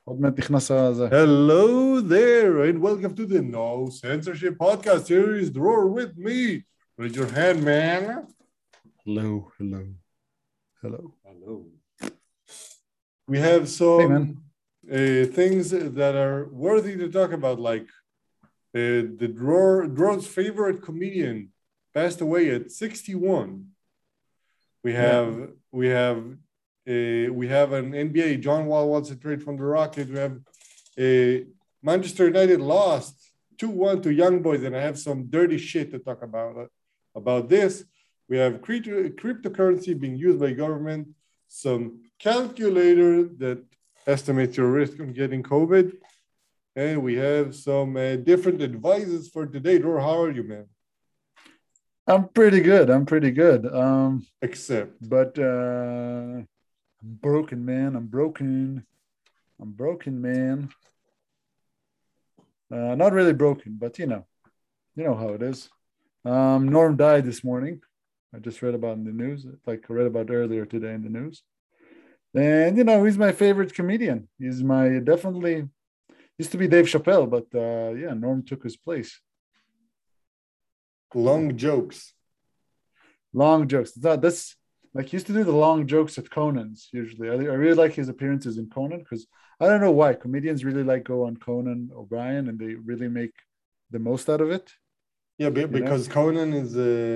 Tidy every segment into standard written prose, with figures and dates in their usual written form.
עוד מעט נכנס הזה. Hello there, and welcome to the No Censorship Podcast series. Dror with me. Raise your hand, man. Hello. Hello. We have some things that are worthy to talk about, like the Dror's favorite comedian passed away at 61. We have an NBA. John Wall wants to trade from the Rockets. We have Manchester United lost 2-1 to Young Boys, and I have some dirty shit to talk about this. We have cryptocurrency being used by government, some calculator that estimates your risk on getting COVID, and we have some different advices for today. Dror, how are you, man? I'm pretty good. But I'm broken, man. I'm broken, man. Not really broken, but you know how it is. Norm died this morning. I just read about in the news, like I read about earlier today in the news. And he's my favorite comedian. He's my definitely used to be Dave Chappelle, but Norm took his place. Long jokes. It's not this. Like, he used to do the long jokes at Conan's usually. I really like his appearances in Conan because I don't know why comedians really like go on Conan O'Brien and they really make the most out of it. Yeah, because Conan is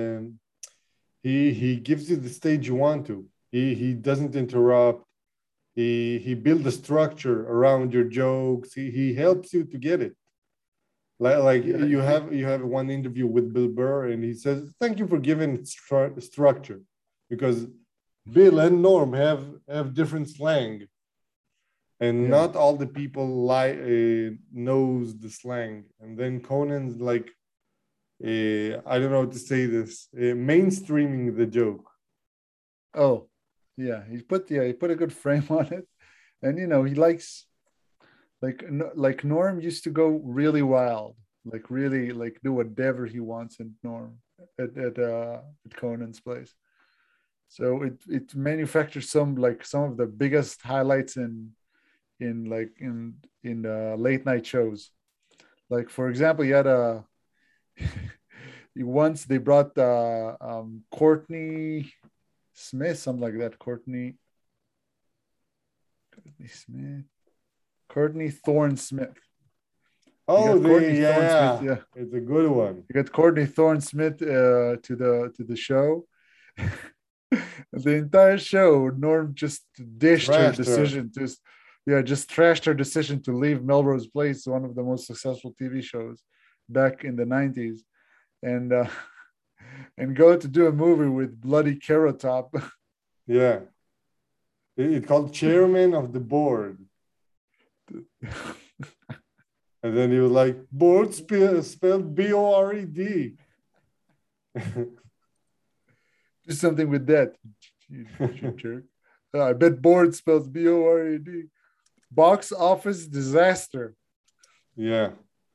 he gives you the stage you want to. He doesn't interrupt. He builds a structure around your jokes. He helps you to get it. You have one interview with Bill Burr, and he says, "Thank you for giving structure," because Bill and Norm have different slang, and not all the people knows the slang. And then Conan's like, I don't know how to say this, mainstreaming the joke. Oh, yeah, he put a good frame on it, and he likes. Like Norm used to go really wild, like really like do whatever he wants in Norm at Conan's place. So it manufactures some of the biggest highlights in late night shows. Like, for example, you had once they brought Courtney Smith, something like that. Courtney Smith. Courtney Thorne Smith. Oh, Smith, it's a good one. You got Courtney Thorne Smith to the show. The entire show, Norm just dished her decision just trashed her decision to leave Melrose Place, one of the most successful TV shows back in the 90s, and go to do a movie with bloody Carrot Top. Yeah, it's called Chairman of the Board. And then he was like, board spelled B-O-R-E-D. Do something with that, you jerk. I bet board spells B-O-R-E-D. Box office disaster. Yeah.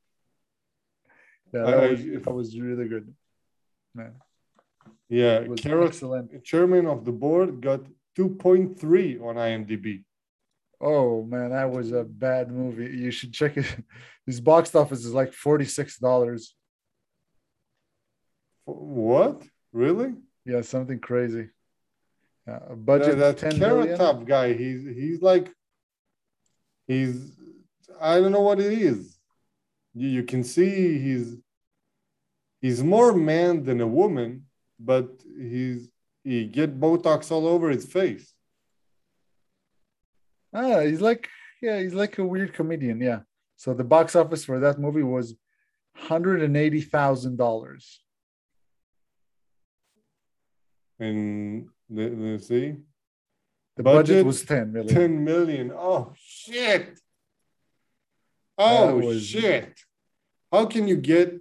That was really good, man. Yeah, excellent. Chairman of the Board got 2.3 on IMDb. Oh man, that was a bad movie. You should check it. His box office is like $46. What? Really? Yeah, something crazy. A budget that 10 Carrot million. Top guy. He's I don't know what it is. You can see he's more man than a woman, but he get Botox all over his face. He's like a weird comedian. Yeah. So the box office for that movie was $180,000. And let's see. The budget was 10 million. 10 million. Oh shit. Shit. How can you get?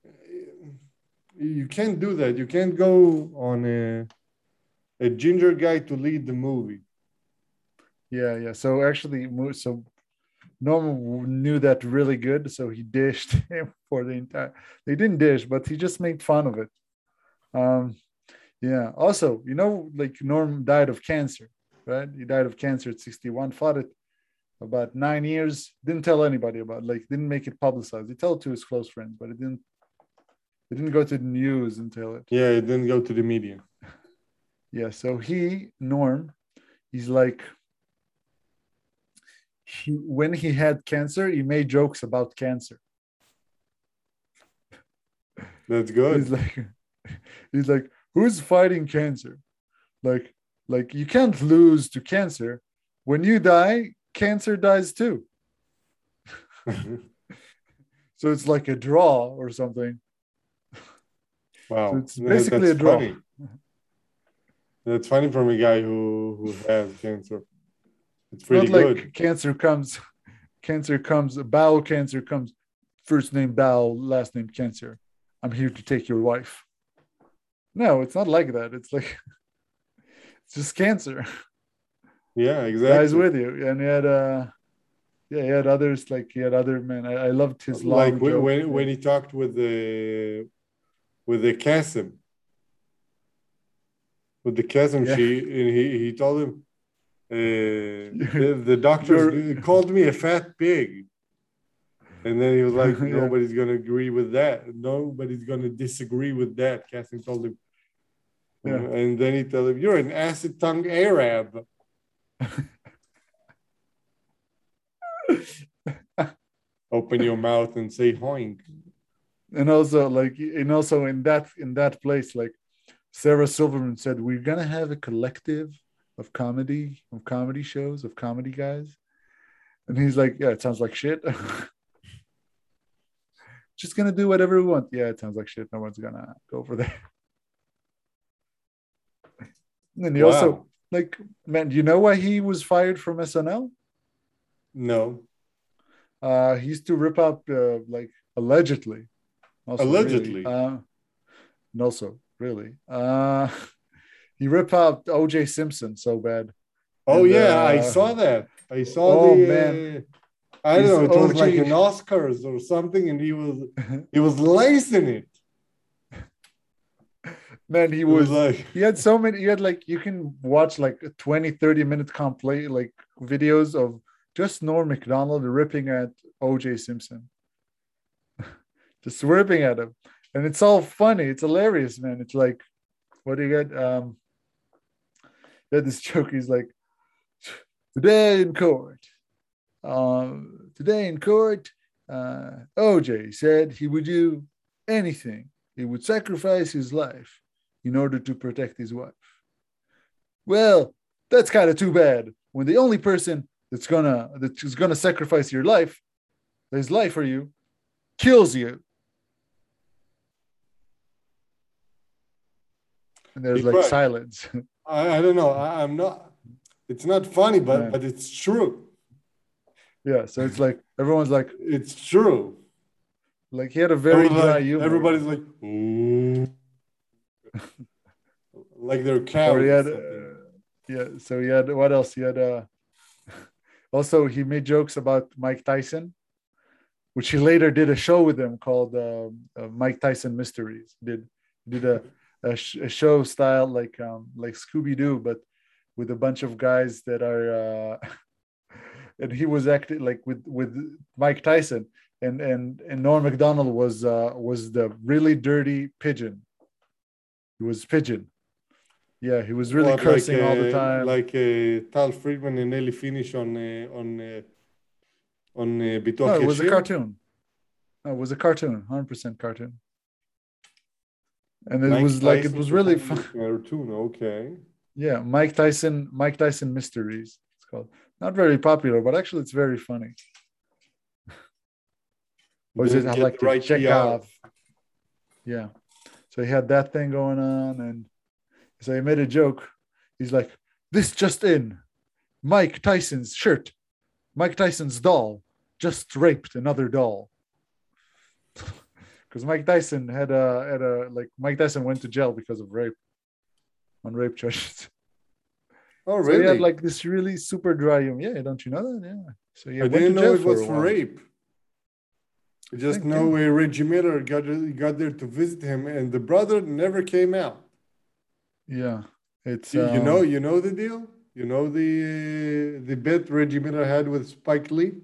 You can't do that. You can't go on a ginger guy to lead the movie. Yeah. So actually, Norman knew that really good, so he dished him for the entire. They didn't dish, but he just made fun of it. Yeah. Also, like Norm died of cancer, right? He died of cancer at 61. Fought it about 9 years. Didn't tell anybody about it, like didn't make it publicized. He told it to his close friends, but it didn't go to the news until it. Yeah, it didn't go to the media. Yeah, so Norm, he's like when he had cancer, he made jokes about cancer. That's good. He's like, who's fighting cancer? Like, you can't lose to cancer. When you die, cancer dies too. So it's like a draw or something. Wow. So it's basically a draw. Funny. That's funny from a guy who has cancer. It's pretty not good. Like cancer comes, bowel cancer comes, first name bowel, last name cancer. I'm here to take your wife. No, it's not like that. It's like, it's just cancer. Yeah, exactly. Guys with you. And he had others, like he had other men. I loved his long like joke. when he talked with the Qasim. With the Qasim, he told him the doctors called me a fat pig. And then he was like, nobody's going to agree with that. Nobody's going to disagree with that. Qasim told him. Yeah. And then he told him, you're an acid tongue Arab. Open your mouth and say hoink. And also in that place, like Sarah Silverman said, we're gonna have a collective of comedy shows, of comedy guys. And he's like, yeah, it sounds like shit. Just gonna do whatever we want. Yeah, it sounds like shit. No one's gonna go for that. And then he also, like, man, do you know why he was fired from SNL? No. He used to rip up, like, allegedly. Allegedly. Really. He ripped out O.J. Simpson so bad. Oh, and, I saw that. I saw man. I don't know. It was like an Oscars or something, and he was lacing it. Man, he had so many. He had like, you can watch like 20, 30-minute like videos of just Norm Macdonald ripping at O.J. Simpson. Just ripping at him. And it's all funny. It's hilarious, man. It's like, what do you get? He had this joke. He's like, today in court, OJ said he would do anything. He would sacrifice his life in order to protect his wife. Well, that's kind of too bad when the only person that's gonna sacrifice his life for you, kills you. And there's like silence. I don't know. I'm not. It's not funny, but it's true. Yeah, so it's like everyone's like, it's true. Like he had a very dry humor. Everybody's like, ooh. Like they're cows. So he had what else? He had also he made jokes about Mike Tyson, which he later did a show with him called Mike Tyson Mysteries. Did a show style like Scooby-Doo, but with a bunch of guys that are and he was acting like with Mike Tyson, and Norm Macdonald was the really dirty pigeon. He was pigeon. Yeah, he was really cursing all the time. Like Tal Friedman and Ellie Finish on Bituach No, it was a cartoon. No, it was a cartoon, 100% cartoon. And it was like, it was really fun. Cartoon, okay. Yeah, Mike Tyson Mysteries, it's called. Not very popular, but actually it's very funny. Or is it I like to check off? Yeah. So he had that thing going on, and so he made a joke. He's like, this just in. Mike Tyson's doll just raped another doll. Because Mike Tyson Mike Tyson went to jail because of rape, on rape charges. Oh, really? So he had like this really super dry humor. Yeah, don't you know that? Yeah. So I didn't know it was for rape. I just know Reggie Miller got there to visit him, and the brother never came out. Yeah, it's you know the deal. You know the bet Reggie Miller had with Spike Lee?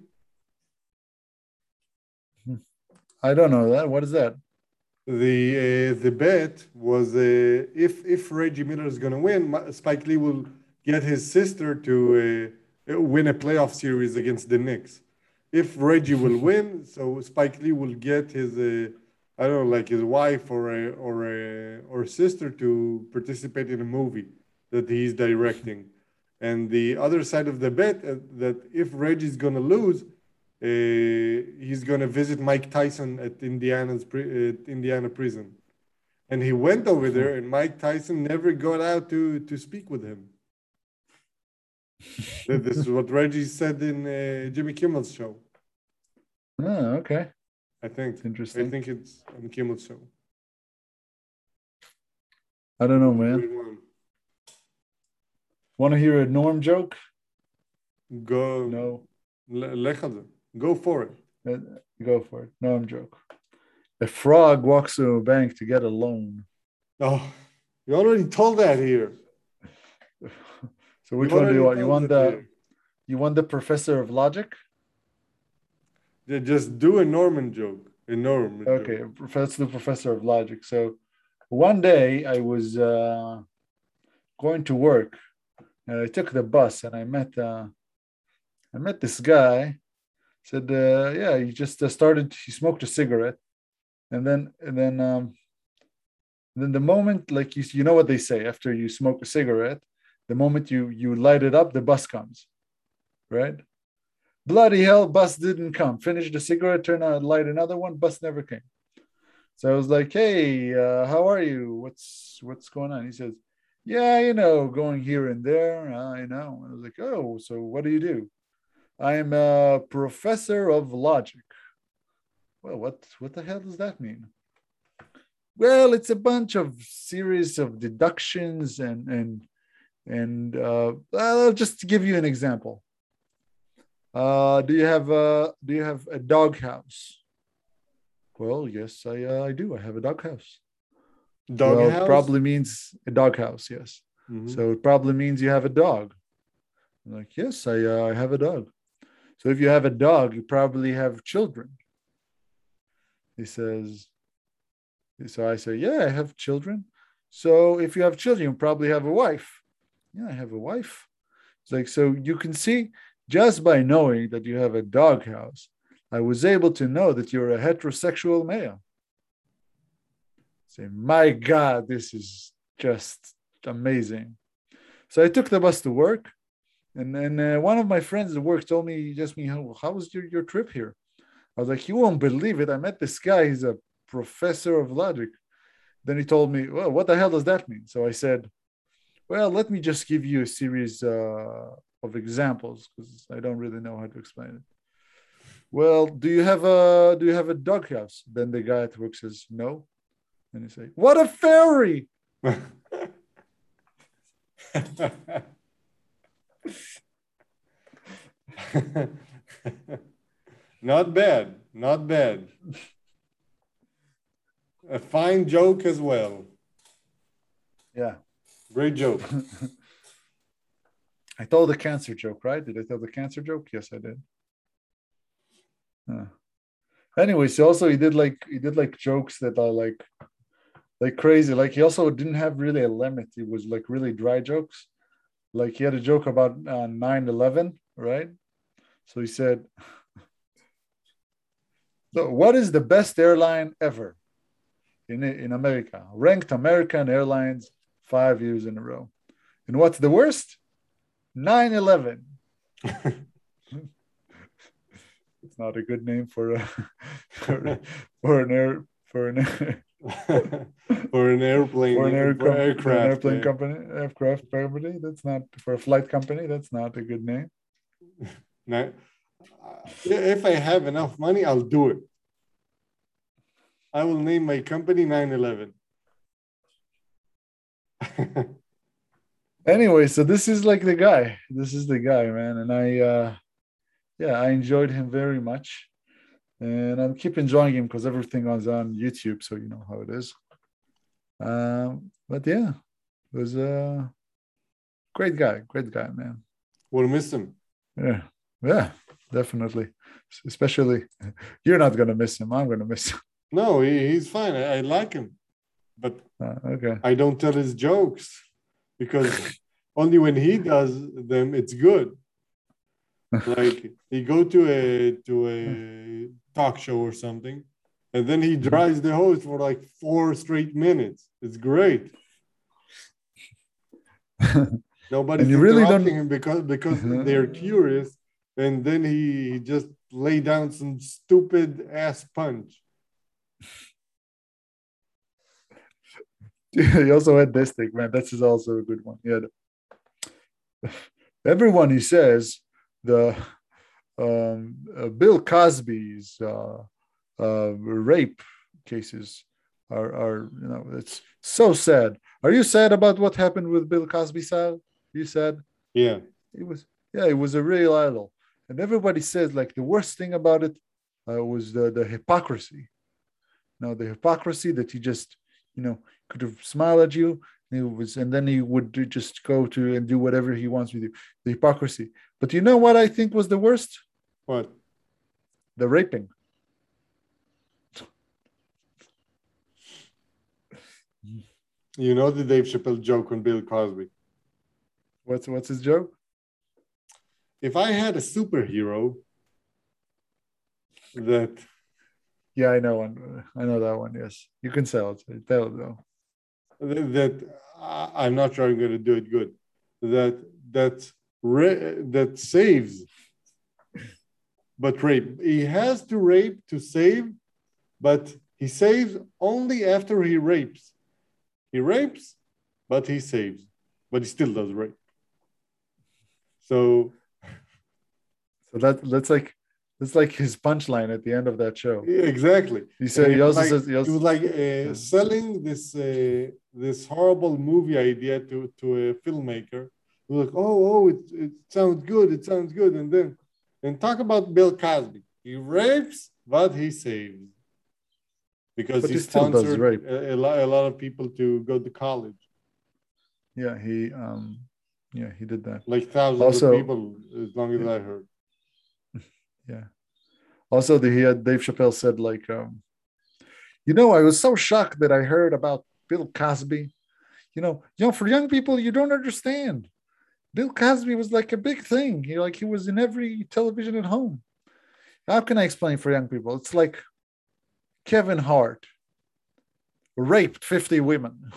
I don't know that. What is that? The bet was if Reggie Miller is going to win, Spike Lee will get his sister to win a playoff series against the Knicks. If Reggie will win, so Spike Lee will get his I don't know, like his wife or sister to participate in a movie that he's directing. And the other side of the bet that if Reggie's going to lose, he's going to visit Mike Tyson at Indiana prison. And he went over there, and Mike Tyson never got out to speak with him. This is what Reggie said in Jimmy Kimmel's show. Oh, okay. I think it's interesting. I think it's on Kimmel's show. I don't know, man. Want to hear a Norm joke? Go. No. Go for it. Go for it. Norm joke. A frog walks to a bank to get a loan. Oh, you already told that here. So which one do you want? You want the professor of logic? Yeah, just do a Norman joke. Okay, let's do professor of logic. So one day I was going to work, and I took the bus, and I met this guy. Said, yeah, he just he smoked a cigarette, and then the moment, like you know what they say, after you smoke a cigarette, the moment you light it up, the bus comes, right? Bloody hell, bus didn't come. Finished the cigarette, turn on, light another one, bus never came. So I was like, hey, how are you? What's going on? He says, yeah, going here and there, I know. And I was like, oh, so what do you do? I'm a professor of logic. Well, what the hell does that mean? Well, it's a bunch of series of deductions and just to give you an example. Do you have a dog house? Well, yes, I do. I have a dog house. Dog house? Probably means a dog house, yes. Mm-hmm. So it probably means you have a dog. I'm like, yes, I have a dog. So if you have a dog, you probably have children. He says, so I say, yeah, I have children. So if you have children, you probably have a wife. Yeah, I have a wife. It's like, so you can see, just by knowing that you have a dog house, I was able to know that you're a heterosexual male. Say, my God, this is just amazing. So I took the bus to work. And then one of my friends at work told me, how was your trip here? I was like, you won't believe it. I met this guy. He's a professor of logic. Then he told me, well, what the hell does that mean? So I said, well, let me just give you a series of examples because I don't really know how to explain it. Well, do you have a doghouse? Then the guy at work says, no. And he say, what a fairy! Not bad. A fine joke as well. Yeah. Great joke. I told the cancer joke, right? Did I tell the cancer joke? Yes, I did. Anyways, also he did like jokes that are like crazy. Like he also didn't have really a limit. It was like really dry jokes. Like he had a joke about 9/11, right? So he said, so what is the best airline ever in America? Ranked American Airlines 5 years in a row. And what's the worst? 9/11. It's not a good name for an aircraft company. That's not for a flight company. That's not a good name. No. If I have enough money, I'll do it. I will name my company 9/11. Anyway, so this is like the guy. This is the guy, man. And I enjoyed him very much. And I keep enjoying him because everything was on YouTube, so you know how it is. But yeah, it was great guy, man. We'll miss him. Yeah, yeah, definitely. Especially, you're not gonna miss him. I'm gonna miss him. No, he's fine. I like him, but Okay. I don't tell his jokes because only when he does them, it's good. Like he go to a talk show or something, and then he drives the host for like 4 straight minutes. It's great. Nobody's And you really interrupting don't him because they're curious, and then he just lay down some stupid ass punch. He also had this thing, man. This is also a good one. Yeah. Everyone he says the Bill Cosby's rape cases are it's so sad. Are you sad about what happened with Bill Cosby? Sal? You sad? Yeah. It was a real idol, and everybody says like the worst thing about it was the hypocrisy. Now the hypocrisy that he just could have smiled at you. And then he would just go to and do whatever he wants with you. The hypocrisy. But you know what I think was the worst? What? The raping. You know the Dave Chappelle joke on Bill Cosby. What's his joke? If I had a superhero that... Yeah, I know one. I know that one. Yes, you can sell it. Tell it though. That I'm not sure I'm going to do it good. That saves, but rape. He has to rape to save, but he saves only after he rapes. He rapes, but he saves, but he still does rape. So that's like his punchline at the end of that show. Exactly. He said he also says he was like selling this horrible movie idea to a filmmaker. He was like, it sounds good, and then talk about Bill Cosby. He rapes, but he saves because he sponsored a lot of people to go to college. Yeah, he did that. Like thousands of people, as long as I heard. Yeah. Also, Dave Chappelle said like, I was so shocked that I heard about Bill Cosby. For young people, you don't understand. Bill Cosby was like a big thing. He was in every television at home. How can I explain for young people? It's like Kevin Hart raped 50 women.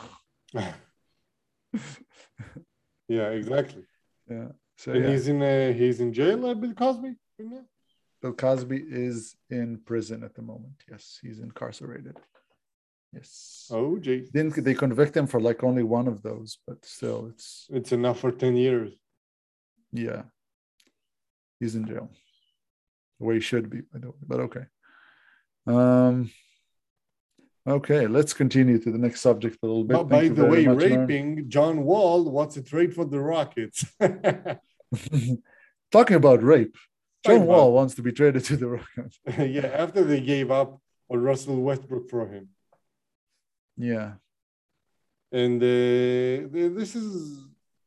Yeah, exactly. Yeah. So and he's in jail, Bill Cosby? Bill Cosby is in prison at the moment. Yes, he's incarcerated. Yes. Oh, geez. Didn't they convict him for like only one of those, but still it's enough for 10 years. Yeah. He's in jail. The way he should be, by the way, but okay. Okay, let's continue to the next subject a little bit. But by the way, raping John Wall, what's the trade for the Rockets? Talking about rape, John Wall wants to be traded to the Rockets. Yeah, after they gave up on Russell Westbrook for him. Yeah. And this is,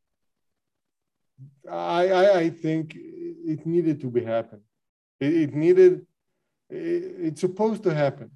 I think it needed to be happen. It's supposed to happen.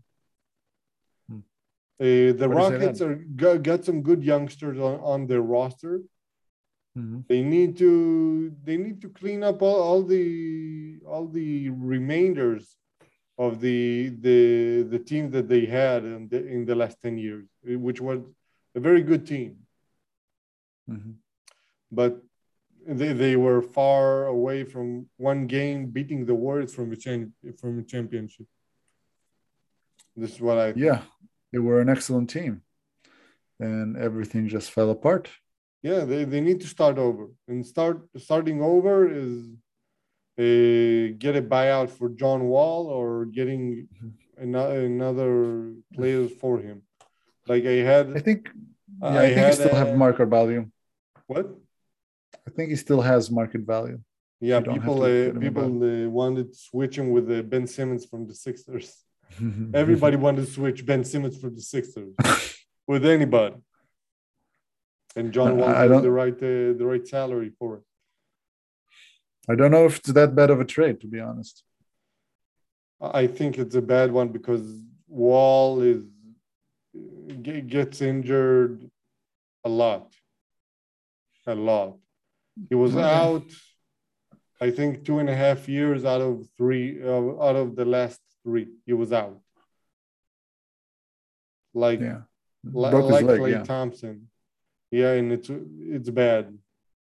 The Rockets got some good youngsters on their roster. Mm-hmm. They need to clean up all the remainders of the team that they had in the last 10 years, which was a very good team. Mm-hmm. But they were far away from one game beating the Warriors from a championship. This is what I think. Yeah, they were an excellent team, and everything just fell apart. Yeah, they need to start over, and starting over is get a buyout for John Wall or getting another players for him. Like I think he still have market value. What? I think he still has market value. Yeah, people wanted to switch him with Ben Simmons from the Sixers. Everybody wanted to switch Ben Simmons from the Sixers with anybody. and John Wall I got don't. the right salary for it. I don't know if it's that bad of a trade, to be honest. I think it's a bad one because Wall gets injured a lot, a lot. He was Okay. out, I think, 2.5 years out of three, out of the last three. He was out, like Yeah. Broke his leg. Klay Yeah. Thompson. Yeah, and it's bad.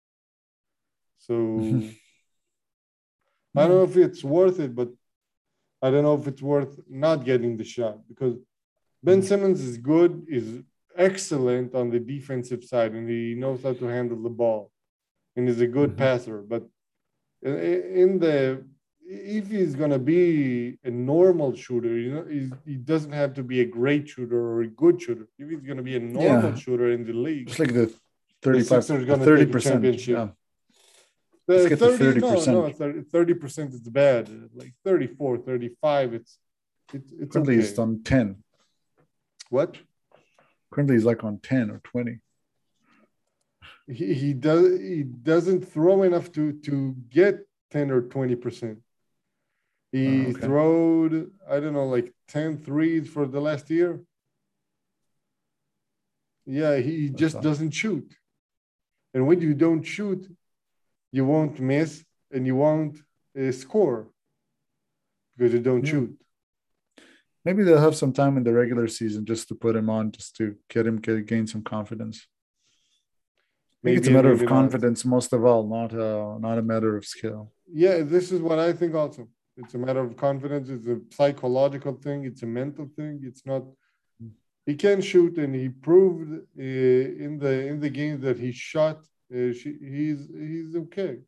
So I don't know if it's worth it, but I don't know if it's worth not getting the shot because Ben Simmons is good, is excellent on the defensive side, and he knows how to handle the ball, and is a good passer. But in the if he's gonna be a normal shooter, he doesn't have to be a great shooter or a good shooter. If he's gonna be a normal Yeah. shooter in the league, Just like the the 35, Sixers are the gonna take a 30%. championship. Yeah. Let's get to 30%. 30% is bad. Like 34, 35, it's Currently, okay. he's on 10. What? Currently, he's like on 10 or 20. He doesn't throw enough to get 10 or 20%. He Okay. throwed, I don't know, like 10 threes for the last year. Yeah, he just doesn't shoot. And when you don't shoot, you won't miss and you won't score because you don't shoot. Maybe they'll have some time in the regular season just to put him on, just to gain some confidence. I think it's a matter of confidence most of all, not a matter of skill. Yeah, this is what I think also. It's a matter of confidence. It's a psychological thing. It's a mental thing. It's not. He can shoot, and he proved in the game that he shot. He's okay.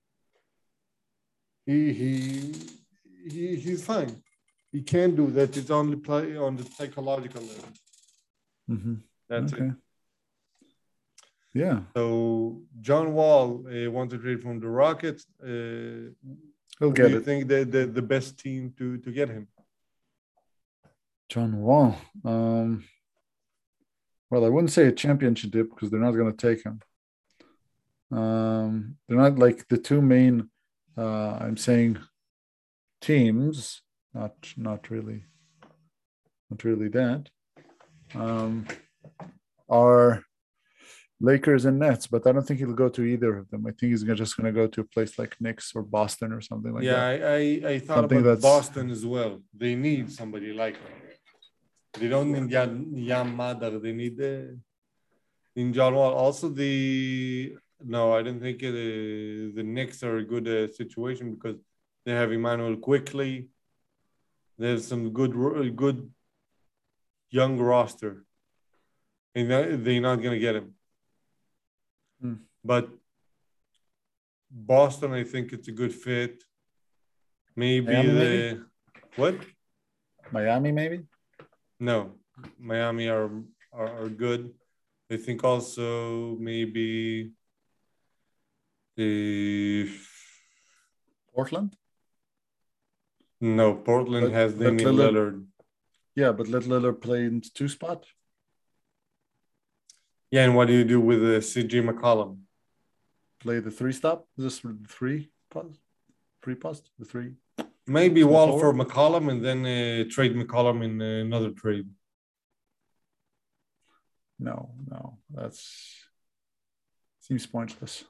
He's fine. He can do that. It's only play on the psychological level. Mm-hmm. That's it. Yeah. So John Wall wants to trade from the Rockets. He'll do get you it. think the best team to get him? John Wall. Well, I wouldn't say a championship because they're not going to take him. They're not like the two main. I'm saying teams. Not really that. Are Lakers and Nets, but I don't think he'll go to either of them. I think he's just going to go to a place like Knicks or Boston or something like that. Yeah, I thought something about Boston as well. They need somebody like him. They don't need Yam Madar. They need in John Wall. Also, no, I don't think the Knicks are a good situation because they have Emmanuel Quickly. There's some good young roster, and they're not going to get him. But Boston, I think it's a good fit. Maybe Miami, what? Miami, maybe? No, Miami are good. I think also maybe Portland. No, Portland has Damian Lillard. Yeah, but let Lillard play in two spot. Yeah, and what do you do with CJ McCollum? Play the three stop? Is this three post? The three. Maybe Wall for McCollum and then trade McCollum in another trade. No, seems pointless.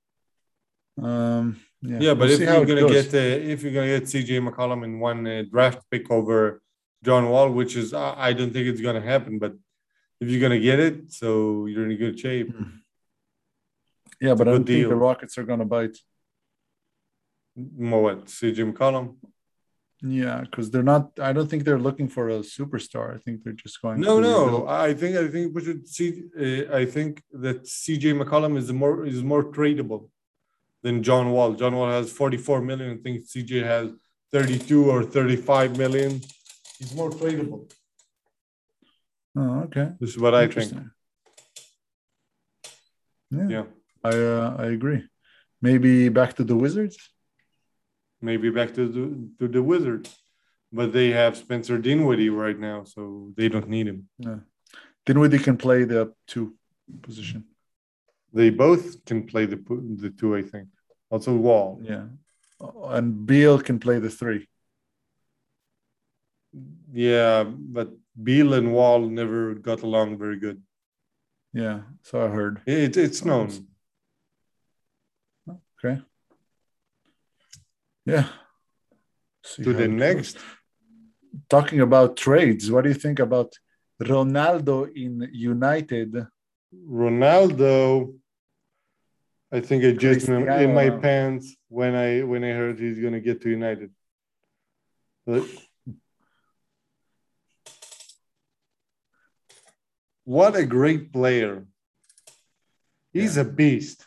Yeah, but if you're gonna get CJ McCollum in one draft pick over John Wall, which is I don't think it's gonna happen, but if you're gonna get it, so you're in a good shape. Yeah, but I don't think the Rockets are gonna bite. What, CJ McCollum? Yeah, because they're not. I don't think they're looking for a superstar. I think they're just going. No. I think we should see. I think that CJ McCollum is more tradable than John Wall. John Wall has 44 million. I think CJ has 32 or 35 million. He's more tradable. Oh, okay. This is what I think. Yeah. I agree. Maybe back to the Wizards. Maybe back to the Wizards, but they have Spencer Dinwiddie right now, so they don't need him. Yeah. Dinwiddie can play the 2 position. They both can play the two, I think. Also Wall. Yeah. And Beal can play the 3. Yeah, but Beal and Wall never got along very good. Yeah, so I heard. It's known. Okay. Yeah. To the next. Talking about trades, what do you think about Ronaldo in United? Ronaldo, I think I just in my pants when I heard he's gonna get to United. What a great player. He's a beast.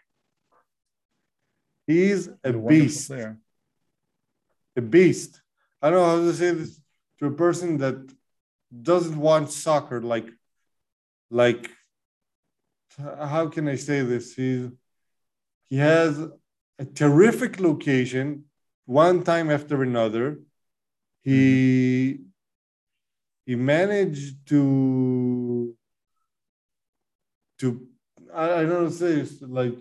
He's a beast. A beast. I don't know how to say this to a person that doesn't want soccer. Like, how can I say this? He has a terrific location, one time after another. He managed to I don't know how to say this, like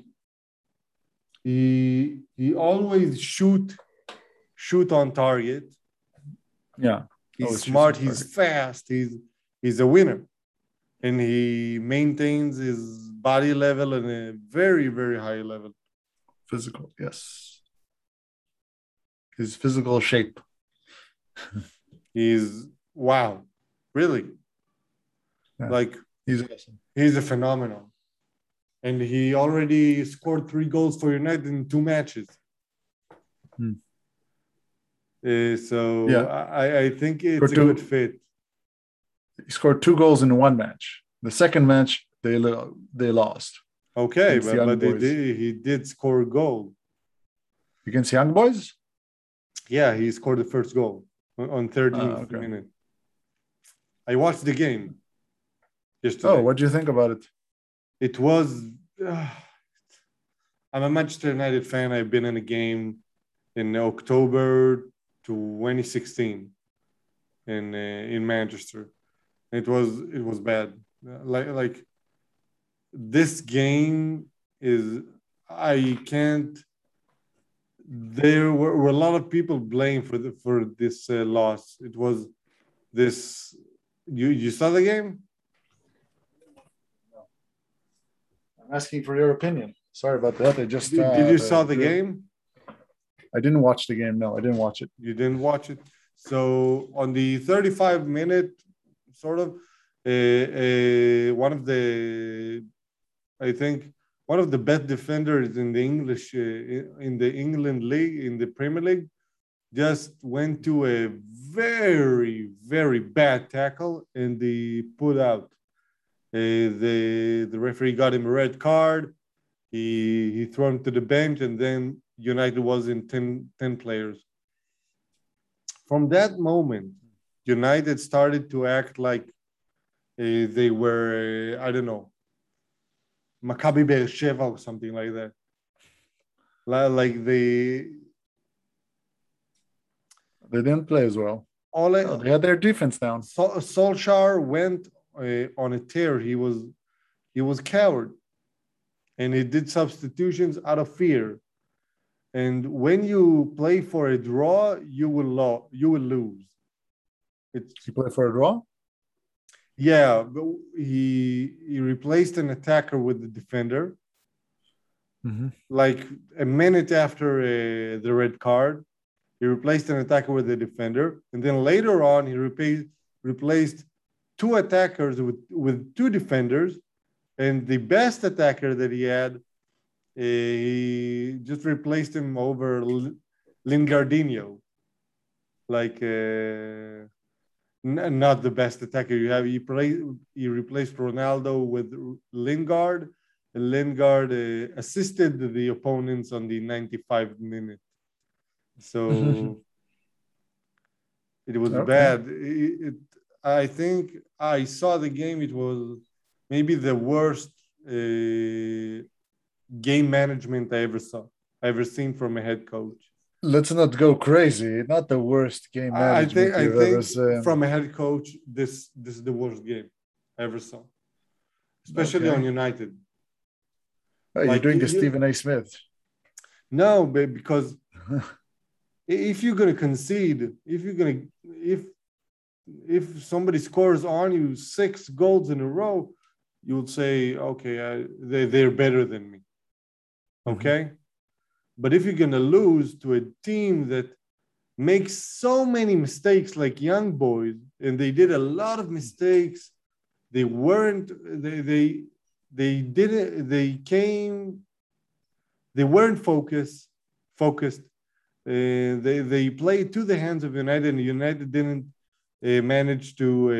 he always shoot on target. Yeah. He's smart, he's fast, he's a winner. And he maintains his body level in a very, very high level. Physical, yes. His physical shape. He's wow, really. Yeah. Like he's awesome. He's a phenomenon. And he already scored 3 goals for United in 2 matches. So yeah. I think it's a good fit. He scored 2 goals in 1 match. The second match, they lost. Okay, but he did score a goal. Against Young Boys? Yeah, he scored the first goal on 13th minute. I watched the game yesterday. Oh, what do you think about it? It was... I'm a Manchester United fan. I've been in a game in October 2016 in Manchester. It was bad. Like this game is, I can't. There were a lot of people blamed for this loss. It was this. You saw the game? I'm asking for your opinion. Sorry about that. I just did you saw the game? I didn't watch the game. No, I didn't watch it. You didn't watch it. So on the 35-minute, sort of, one of the, I think, one of the best defenders in the English, in the England league, in the Premier League, just went to a very, very bad tackle and he put out. The referee got him a red card. He threw him to the bench, and then United was in 10 players. From that moment, United started to act like they were, I don't know, Maccabi Beersheva or something like that. Like they didn't play as well. They had their defense down. Solskjaer went on a tear. He was coward, and he did substitutions out of fear. And when you play for a draw, you will lose. He played for a draw? Yeah, but he replaced an attacker with the defender. Mm-hmm. Like a minute after the red card, he replaced an attacker with the defender, and then later on he replaced 2 attackers with 2 defenders, and the best attacker that he had, he just replaced him over Lingardinho. Like not the best attacker you have. He replaced Ronaldo with Lingard. And Lingard assisted the opponents on the 95th minute. So it was bad. I think I saw the game. It was maybe the worst game management I ever seen from a head coach. Let's not go crazy. Not the worst game management I think from a head coach, this is the worst game I ever saw, especially on United. Oh, you're doing the Stephen A. Smith. No, because if you're gonna concede, if somebody scores on you 6 goals in a row, you would say, okay, they're better than me. Okay, but if you're gonna lose to a team that makes so many mistakes, like Young Boys, and they did a lot of mistakes, they weren't focused. They played to the hands of United, and United didn't manage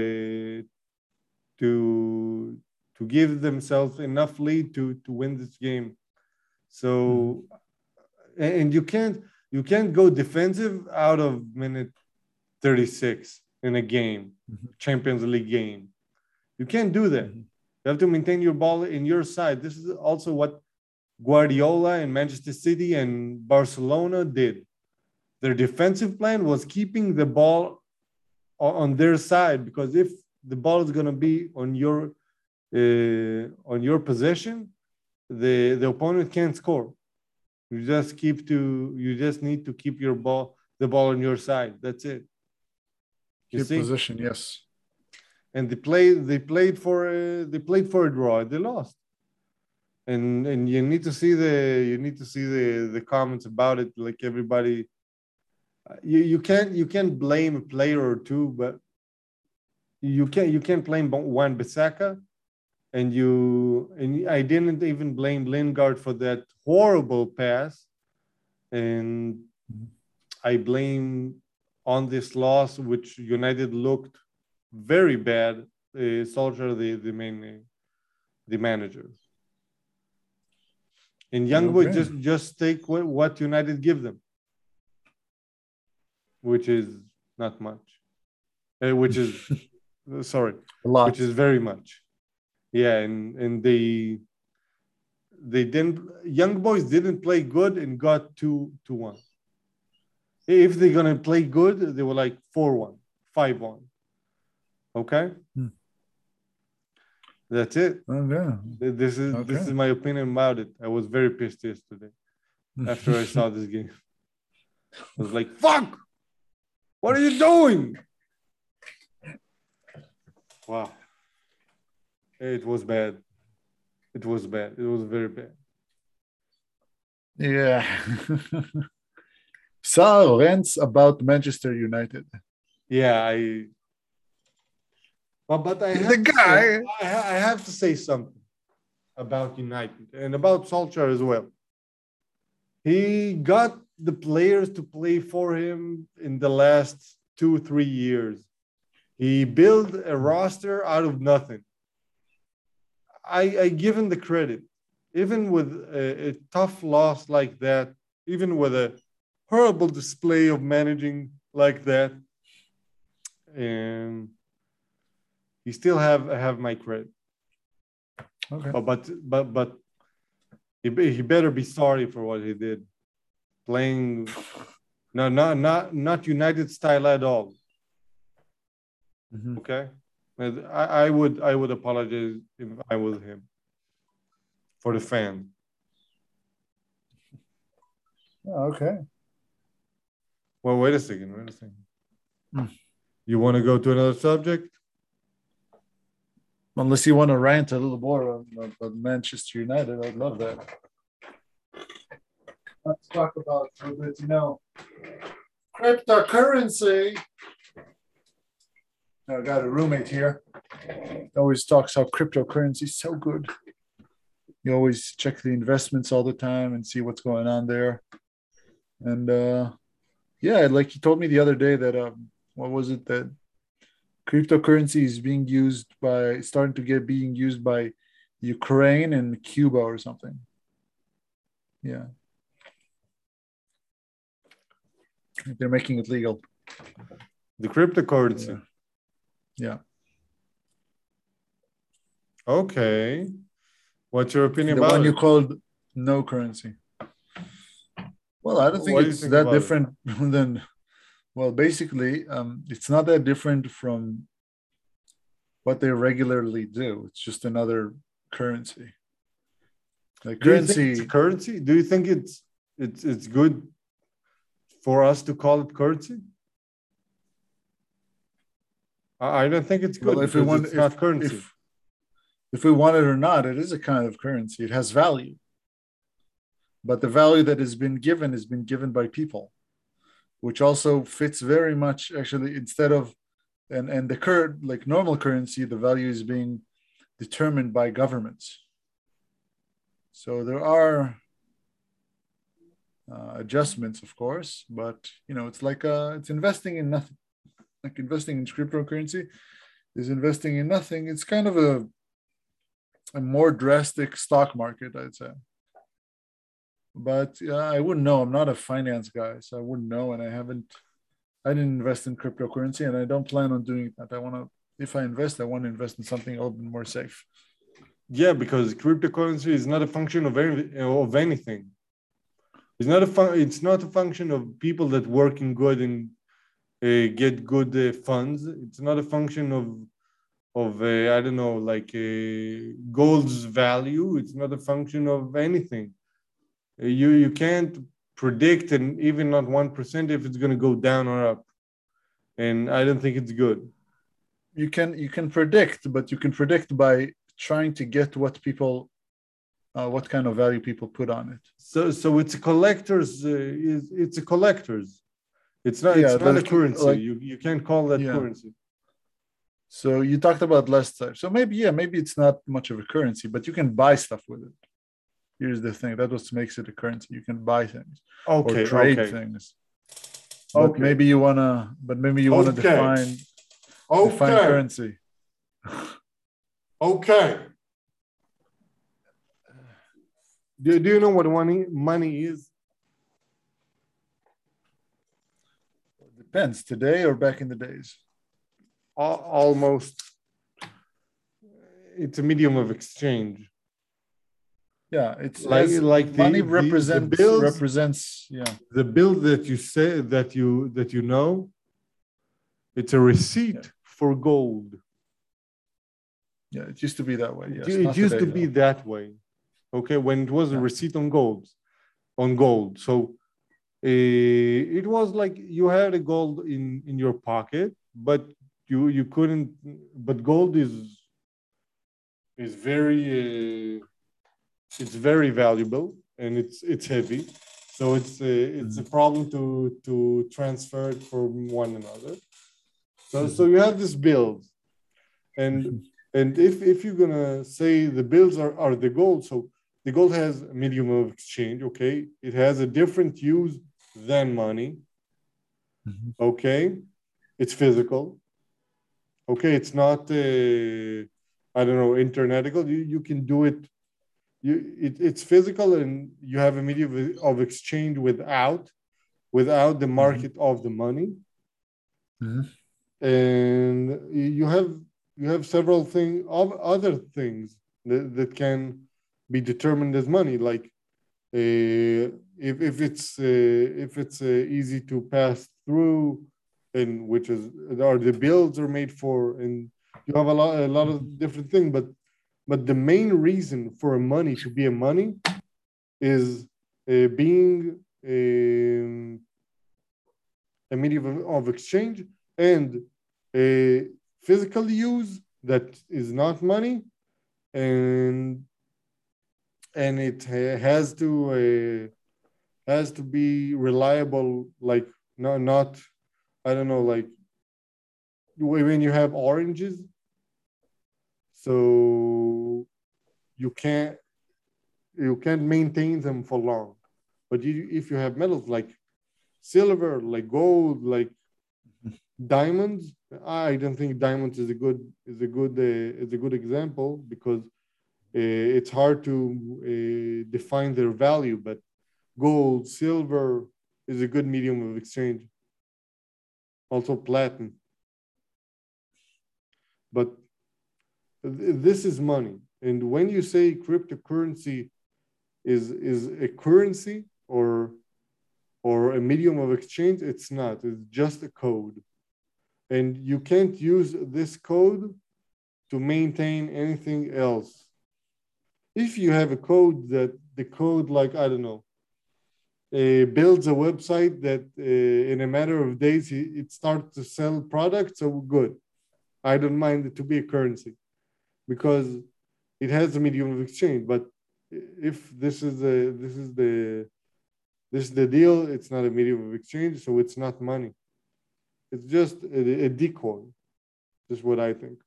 to give themselves enough lead to win this game. So, and you can't go defensive out of minute 36 in a game, Champions League game. You can't do that. You have to maintain your ball in your side. This is also what Guardiola and Manchester City and Barcelona did. Their defensive plan was keeping the ball on their side, because if the ball is going to be on your possession, the opponent can't score. You just need to keep the ball on your side. That's it. Keep position, yes. And they played for a draw. They lost. And you need to see the comments about it. Like everybody, you can't blame a player or two, but you can't blame Wan-Bissaka, and I didn't even blame Lingard for that horrible pass, and I blame on this loss, which United looked very bad. Solskjaer, the manager. And Young Boys just take what United give them, which is not much. Which is sorry, a lot. Which is very much. Yeah, and they didn't. Young Boys didn't play good and got 2-1. If they're gonna play good, they were like 4-1, 5-1. Okay. That's it. Okay. This is my opinion about it. I was very pissed yesterday after I saw this game. I was like, "Fuck! What are you doing?" Wow. It was bad. It was bad. It was very bad. Yeah. So rants about Manchester United. Yeah, but I have to say something about United and about Solskjaer as well. He got the players to play for him in the last 2-3 years. He built a roster out of nothing. I give him the credit. Even with a tough loss like that, even with a horrible display of managing like that, and he still have my credit. Okay. But he better be sorry for what he did. Playing not United style at all. Okay. I would apologize if I was him, for the fan. Okay. Well, wait a second. You want to go to another subject? Unless you want to rant a little more about Manchester United, I'd love that. Let's talk about a little bit, cryptocurrency. I got a roommate here. He always talks how cryptocurrency is so good. You always check the investments all the time and see what's going on there. And yeah, like he told me the other day that what was it, that cryptocurrency is being used by Ukraine and Cuba or something. Yeah. They're making it legal. The cryptocurrency. Yeah. Okay. What's your opinion about it? The one you called no currency. Well, I don't think it's that different than... Well, basically, it's not that different from what they regularly do. It's just another currency. The Do you think it's currency. currency? Do you think it's good for us to call it currency? I don't think it's good Well, because it's not currency. If we want it or not, it is a kind of currency. It has value, but the value that has been given by people, which also fits very much actually. Instead of and the current like normal currency, the value is being determined by governments. So there are adjustments, of course, but it's like it's investing in nothing. Like investing in cryptocurrency is investing in nothing. It's kind of a more drastic stock market, I'd say. But I wouldn't know. I'm not a finance guy, so I wouldn't know, and I didn't invest in cryptocurrency, and I don't plan on doing that. If I invest, I want to invest in something a little bit more safe. Yeah, because cryptocurrency is not a function of anything. It's not a function of people that working good and get good funds. It's not a function of I don't know, like gold's value. It's not a function of anything. You can't predict, and even not 1%, if it's going to go down or up. And I don't think it's good. You can predict, but you can predict by trying to get what kind of value people put on it. So it's a collector's. It's a collector's. It's not. It's not a currency. You can't call that currency. So you talked about last time. So maybe it's not much of a currency, but you can buy stuff with it. Here's the thing. That's what makes it a currency. You can buy things or trade things. But maybe you wanna define currency. Okay. Do you know what money is? It depends. Today or back in the days? Almost. It's a medium of exchange. Yeah, it's like money represents the bill that you say that you know. It's a receipt for gold. Yeah, it used to be that way. Yes, it used to be that way. Okay, when it was a receipt on gold. So it was like you had a gold in your pocket, but you couldn't. But gold is very it's very valuable, and it's heavy, so it's a problem to transfer it from one another. So you have this bills, and if you're gonna say the bills are the gold, so the gold has a medium of exchange. Okay, it has a different use than money. Okay, it's physical. Okay, it's not I don't know, internetical. You can do it. It's physical, and you have a medium of exchange without the market of the money. And you have several other things that can be determined as money, like if it's easy to pass through, and which is the bills are made for, and you have a lot of different things, but the main reason for money to be a money is being a medium of exchange, and a physical use that is not money, and it has to be reliable, like not I don't know, like when you have oranges, so you can't maintain them for long. But if you have metals like silver, like gold, like diamonds, I don't think diamonds is a good example, because it's hard to define their value. But gold, silver is a good medium of exchange. Also platinum. But this is money. And when you say cryptocurrency is a currency or a medium of exchange, it's not. It's just a code. And you can't use this code to maintain anything else. if you have a code that the code, like, I don't know, builds a website that in a matter of days it starts to sell products, so good. I don't mind it to be a currency because it has a medium of exchange. But if this is the deal, it's not a medium of exchange, so it's not money. It's just a decoy. That's what I think.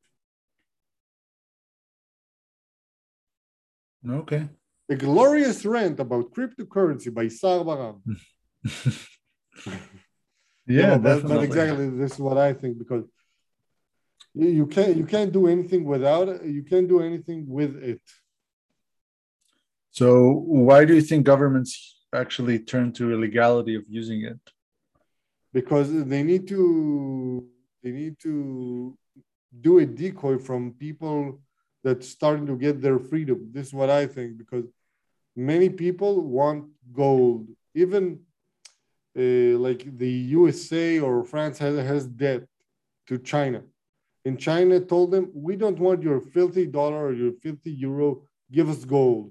Okay. A glorious rant about cryptocurrency by Sar Baram. Yeah, no, definitely. but exactly, this is what I think, because you can't do anything without it. You can't do anything with it. So why do you think governments actually turn to illegality of using it? Because they need to do a decoy from people that's starting to get their freedom. This is what I think, because many people want gold. Even like the USA or France has debt to China. And China told them, we don't want your filthy dollar or your filthy euro. Give us gold.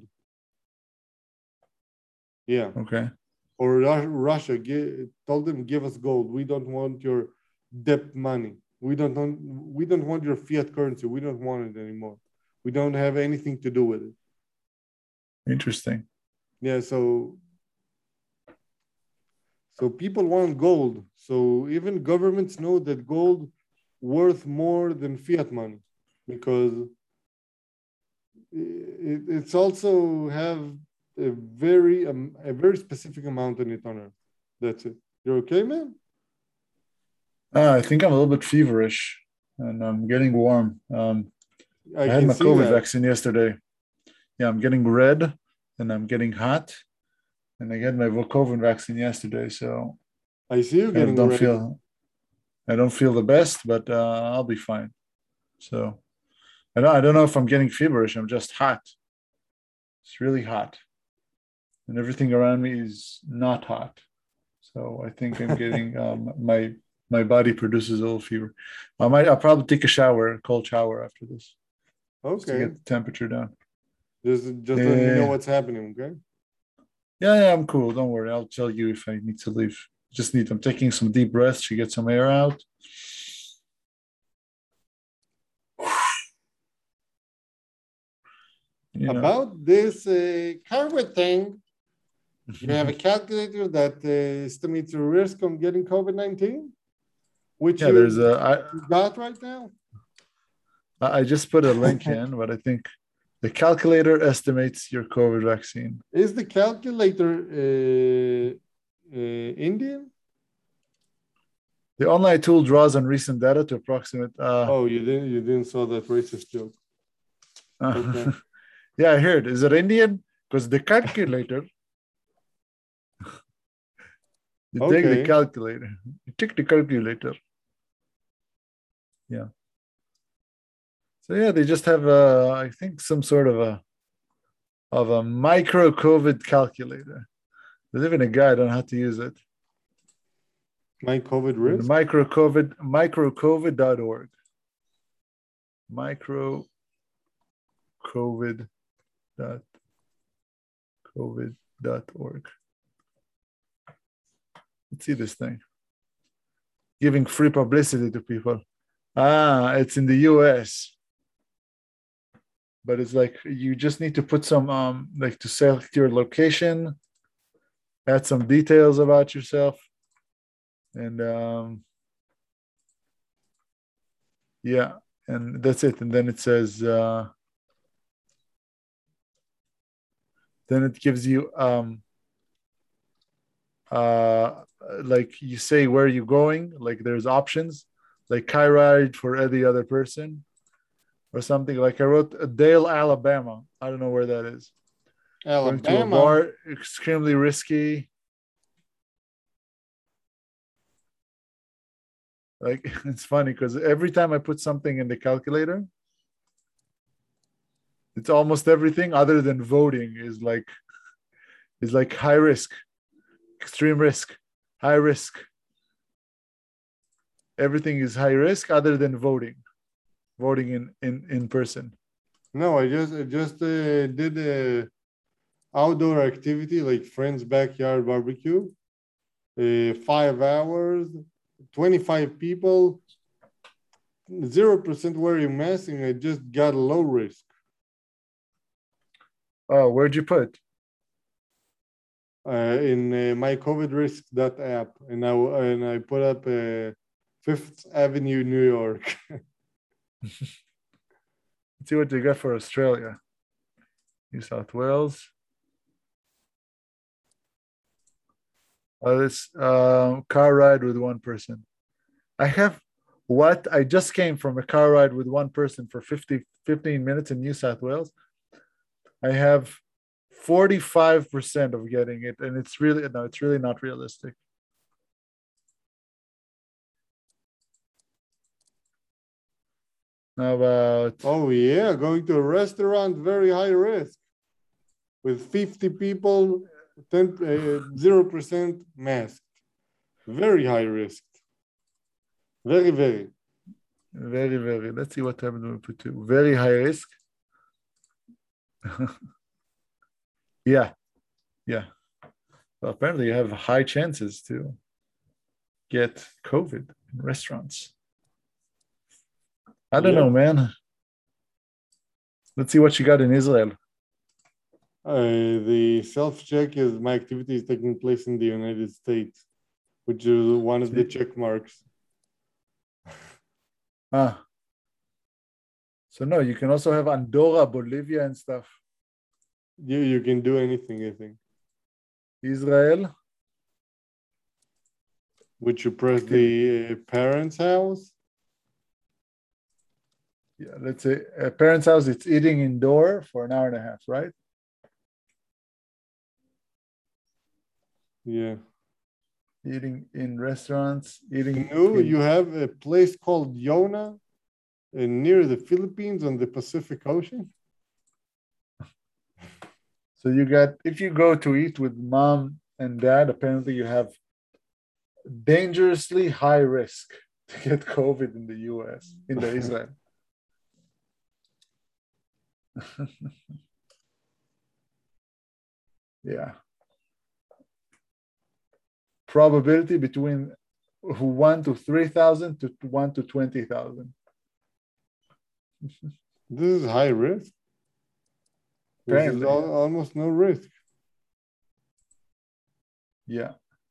Yeah. Okay. Or Russia told them, give us gold. We don't want your debt money. We don't want your fiat currency. We don't want it anymore. We don't have anything to do with it. Interesting. Yeah, so people want gold. So even governments know that gold worth more than fiat money, because it's also have a very specific amount in it on Earth. That's it. You're okay, man? I think I'm a little bit feverish and I'm getting warm. I had can my see COVID that. vaccine yesterday. Yeah, I'm getting red and I'm getting hot. And I got my COVID vaccine yesterday, so I see you getting red. I don't feel the best, but I'll be fine. So I don't know if I'm getting feverish. I'm just hot. It's really hot, and everything around me is not hot. So I think I'm getting my body produces a little fever. I'll probably take a shower, a cold shower after this. Okay. Just to get the temperature down. Just let me know what's happening, okay? Yeah, I'm cool. Don't worry. I'll tell you if I need to leave. I'm taking some deep breaths to get some air out. About this COVID thing, you have a calculator that estimates your risk on getting COVID-19, which you got right now. I just put a link in, but I think the calculator estimates your COVID vaccine. Is the calculator Indian? The online tool draws on recent data to approximate. You didn't saw that racist joke. Okay. Yeah, I heard. Is it Indian? Because the calculator. Take the calculator. You take the calculator. Yeah. So yeah, they just have I think some sort of a micro COVID calculator. There's even a guide on how to use it. My COVID risk? Microcovid.org. Microcovid.covid.org. Let's see this thing. Giving free publicity to people. It's in the US. But it's like you just need to put some like to select your location, add some details about yourself, and yeah, and that's it. And then it says then it gives you like you say where you're going, like there's options like car ride for any other person or something. Like I wrote Dale, Alabama. I don't know where that is. Alabama. Going to a bar, extremely risky. Like it's funny because every time I put something in the calculator, it's almost everything other than voting is like high risk, extreme risk, high risk. Everything is high risk other than voting in person. No, I just did a outdoor activity like friends' backyard barbecue. 5 hours, 25 people, 0% wearing masks, and I just got low risk. Oh, where'd you put? In my COVID risk that app, and I put up Fifth Avenue, New York. Let's see what they got for Australia. New South Wales. This car ride with one person. I have what? I just came from a car ride with one person for 15 minutes in New South Wales. I have 45% of getting it, and it's really not realistic. How about Oh yeah, going to a restaurant, very high risk. With 50 people, 0% masked. Very high risk. Very, very. very, very. Let's see what happened when we put two. Very high risk. Yeah. Well, apparently you have high chances to get COVID in restaurants. I don't know, man. Let's see what you got in Israel. The self-check is my activity is taking place in the United States, which is one of the check marks. So no, you can also have Andorra, Bolivia, and stuff. You can do anything, I think. Israel. Would you press the parents' house? Yeah, let's say a parent's house, it's eating indoor for an hour and a half, right? Yeah. Eating in restaurants, eating. No, you have a place called Yona near the Philippines on the Pacific Ocean. So you got, if you go to eat with mom and dad, apparently you have dangerously high risk to get COVID in the US, in the Israel. Yeah. Probability between 1 to 3,000 to 1 to 20,000. This is high risk. Apparently, this is almost no risk. Yeah.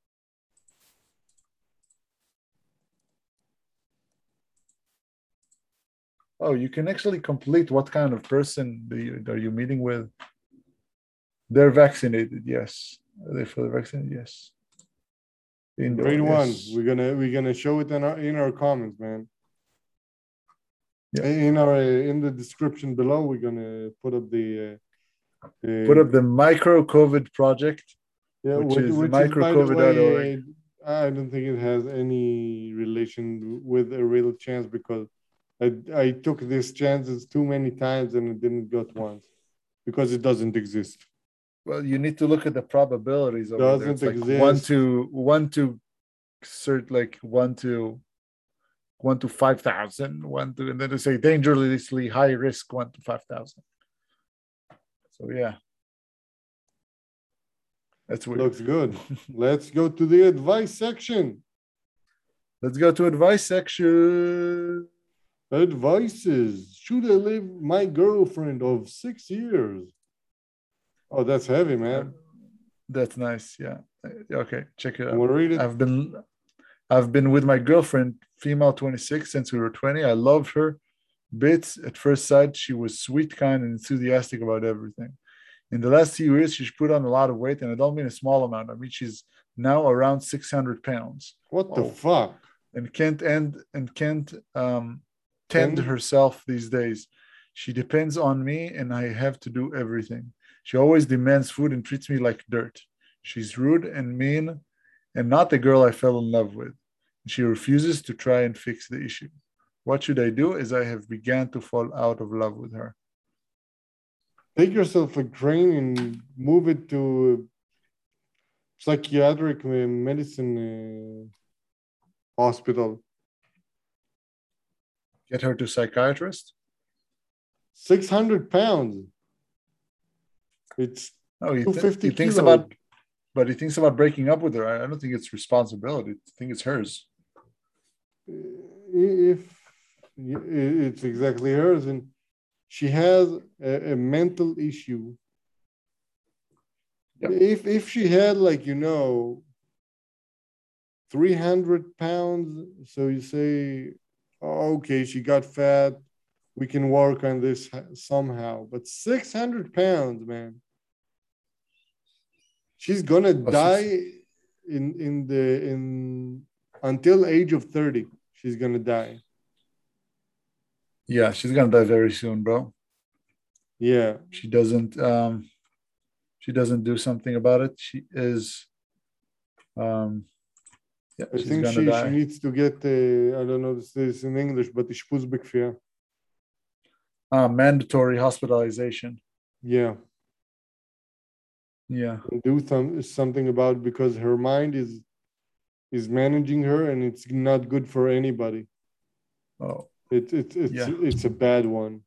Oh, you can actually complete what kind of person are you meeting with? They're vaccinated, yes. Are they fully vaccinated? Yes. Indoor, Grade yes. 1. We're gonna show it in our comments, man. Yeah. In the description below, we're gonna put up the micro COVID project. Yeah, which is microcovid.org. I don't think it has any relation with a real chance because I took these chances too many times and it didn't go once because it doesn't exist. Well, you need to look at the probabilities of it. Doesn't exist. Like 1 to 5,000, and then they say dangerously high risk 1 to 5,000. So yeah. That's weird. Looks good. Let's go to the advice section. Let's go to advice section. Advices. Should I leave my girlfriend of 6 years? Oh, that's heavy, man. That's nice. Yeah. Okay, check it out. Want to read it? I've been with my girlfriend, female 26, since we were 20. I loved her bits. At first sight, she was sweet, kind, and enthusiastic about everything. In the last few years, she's put on a lot of weight, and I don't mean a small amount. I mean, she's now around 600 pounds. What the fuck? And can't tend herself these days. She depends on me, and I have to do everything. She always demands food and treats me like dirt. She's rude and mean, and not the girl I fell in love with. She refuses to try and fix the issue. What should I do as I have begun to fall out of love with her? Take yourself a train and move it to psychiatric medicine hospital. Get her to psychiatrist? 600 pounds. It's Oh, 250 he thinks kilos. about, but he thinks about breaking up with her. I don't think it's responsibility. I think it's hers. If it's exactly hers, and she has a mental issue. Yep. If she had, like, 300 pounds, so you say, oh, okay, she got fat, we can work on this somehow. But 600 pounds, man, she's gonna die until age of 30. She's gonna die. Yeah, she's gonna die very soon, bro. Yeah. She doesn't do something about it. She is yeah, I think she needs to get I don't know this in English, but אשפוז בכפייה. Mandatory hospitalization. Yeah. Yeah. And do something about it, because her mind is managing her, and it's not good for anybody. Oh. It's a bad one.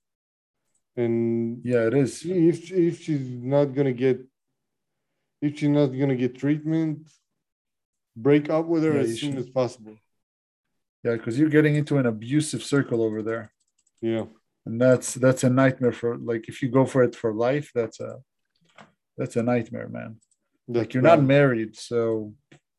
And yeah, it is. If she's not gonna get treatment, break up with her as soon as possible. Yeah, because you're getting into an abusive circle over there. Yeah. And that's a nightmare for, like, if you go for it for life, that's a nightmare, man. Like, you're not married, so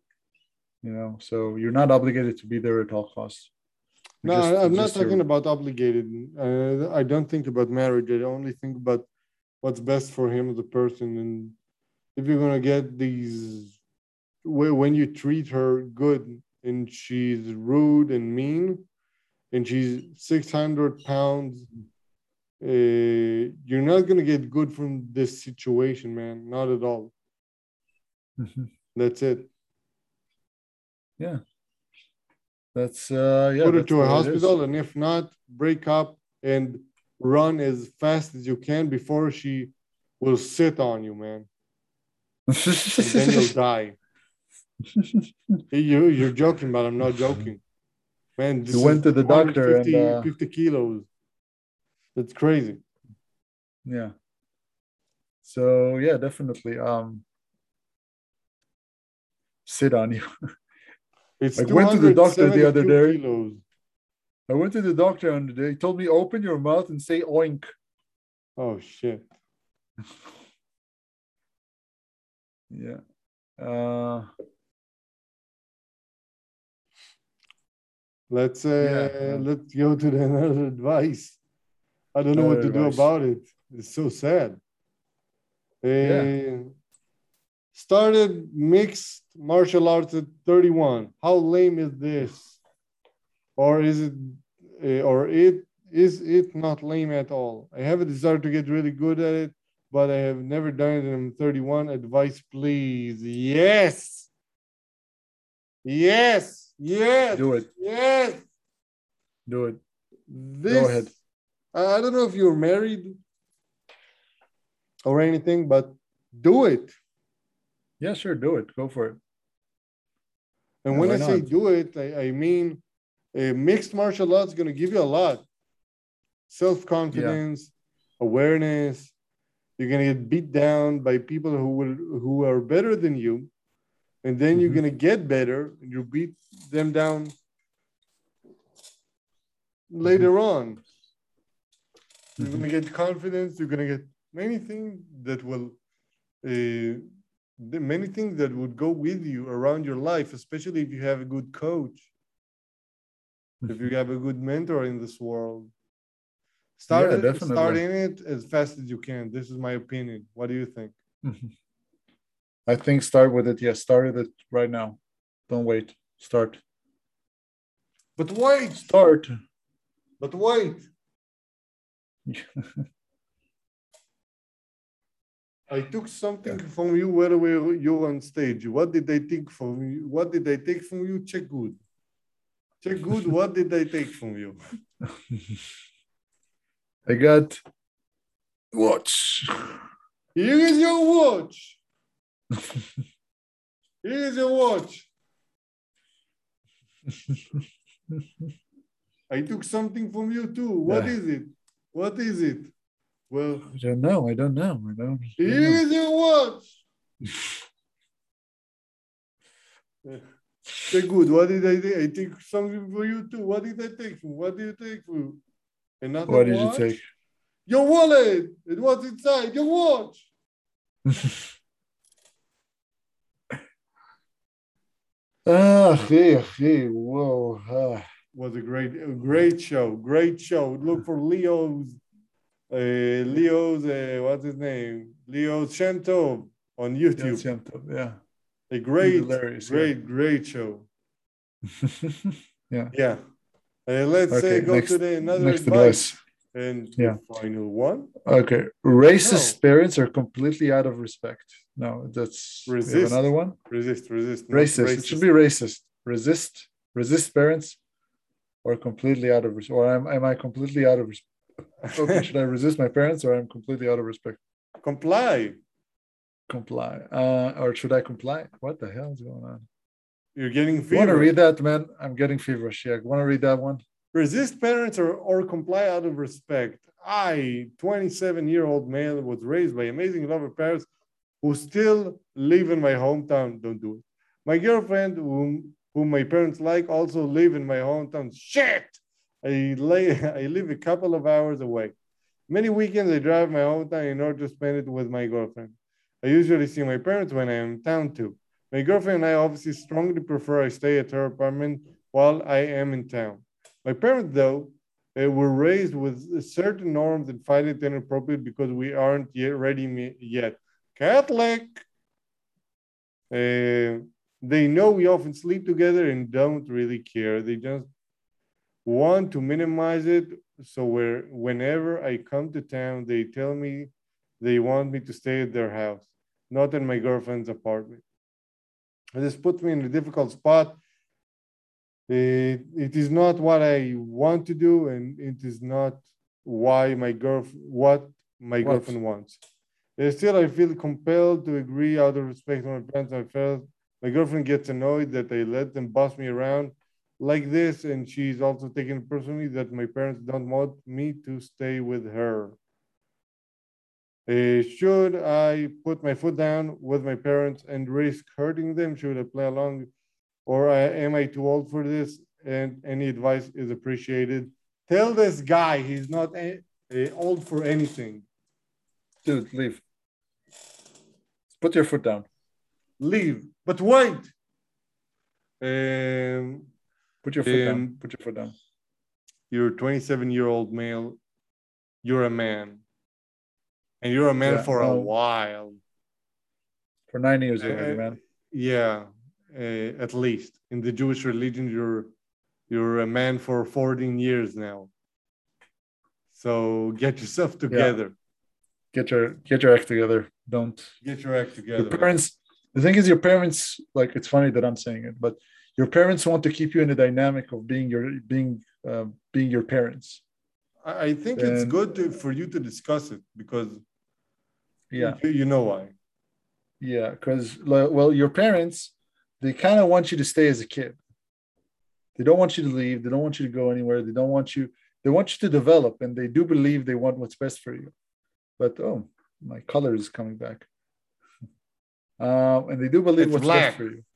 so you're not obligated to be there at all costs. No, I'm not talking about obligated. I don't think about marriage. I only think about what's best for him as a person. And if you're gonna get these, when you treat her good and she's rude and mean, and she's 600 pounds, you're not gonna get good from this situation, man. Not at all. Mm-hmm. That's it. Yeah. That's put her to a hospital, and if not, break up and run as fast as you can before she will sit on you, man. And then you'll die. You're joking, but I'm not joking, man. You went to the doctor and 50 kilos. That's crazy. Yeah. So yeah, definitely sit on you. I went to the doctor the other day. Kilos. I went to the doctor and they told me, open your mouth and say oink. Oh shit. Yeah. Let's go to another advice. I don't know what to do about it. It's so sad. Started mixed martial arts at 31. How lame is this? Or is it not lame at all? I have a desire to get really good at it, but I have never done it, and I'm 31. Advice, please. Yes. Yes. Yes. Do it. Yes. Do it. Go ahead. I don't know if you're married or anything, but do it. Yeah, sure. Do it. Go for it. And when I say do it, I mean mixed martial arts is going to give you a lot. Self-confidence, awareness. You're going to get beat down by people who are better than you. And then you're going to get better and you beat them down later on. You're going to get confidence. You're going to get many things that will, many things that would go with you around your life, especially if you have a good coach, if you have a good mentor in this world. Start in it as fast as you can. This is my opinion. What do you think? I think start with it. Yes, start with it right now. Don't wait. Start. But wait. Start. But wait. I took something from you while you were on stage. What did I take from you? What did I take from you? Check good. Check good. What did I take from you? I got watch. Here is your watch. Here is your watch. I took something from you too. What is it? What is it? Well, I don't know. I don't know. Here's your watch. Say good. What did I take? I take something for you too. What did I take? What did you take for you? Another What did watch? you take? Your wallet. It was inside your watch. Whoa. Was a great show. Great show. Look for Leo's, what's his name? Leo Shantov on YouTube. Yeah. A great, great show. Yeah. Let's go to another advice. And the final one. Okay. Racist parents are completely out of respect. No, that's resist. Another one. Resist. Racist. It should be racist. Resist parents or completely out of respect. Or am I completely out of respect? Okay, should I resist my parents or I'm completely out of respect? Comply. Or should I comply? What the hell is going on? You're getting feverish. You want to read that, man? I'm getting feverish. Yeah, want to read that one? Resist parents or comply out of respect. I, 27-year-old male, was raised by amazing lover parents who still live in my hometown. Don't do it. My girlfriend, whom my parents like, also live in my hometown. Shit! I live a couple of hours away. Many weekends I drive my hometown in order to spend it with my girlfriend. I usually see my parents when I am in town too. My girlfriend and I obviously strongly prefer I stay at her apartment while I am in town. My parents, though, were raised with certain norms and find it inappropriate because we aren't yet ready yet. Catholic. They know we often sleep together and don't really care. They just want to minimize it. So whenever I come to town, they tell me they want me to stay at their house, not in my girlfriend's apartment. This puts me in a difficult spot. It is not what I want to do, and it is not what my girlfriend wants. Still, I feel compelled to agree out of respect for my parents. My girlfriend gets annoyed that I let them boss me around like this, and she's also taken it personally that my parents don't want me to stay with her. Should I put my foot down with my parents and risk hurting them? Should I play along? Or am I too old for this? And any advice is appreciated. Tell this guy he's not old for anything. Dude, leave. Put your foot down. Leave. But wait. Put your foot down. Put your foot down. You're a 27-year-old male. You're a man. And you're a man for a while. For 9 years already, man. Yeah, at least. In the Jewish religion, you're a man for 14 years now. So get yourself together. Yeah. Get your act together. Don't get your act together. Your parents. The thing is, your parents, like, it's funny that I'm saying it, but your parents want to keep you in the dynamic of being your parents. I think it's good for you to discuss it because you know why. Yeah, because, well, your parents, they kind of want you to stay as a kid. They don't want you to leave. They don't want you to go anywhere. They want you to develop, and they do believe they want what's best for you. But, oh, my color is coming back. And they do believe what's best for you.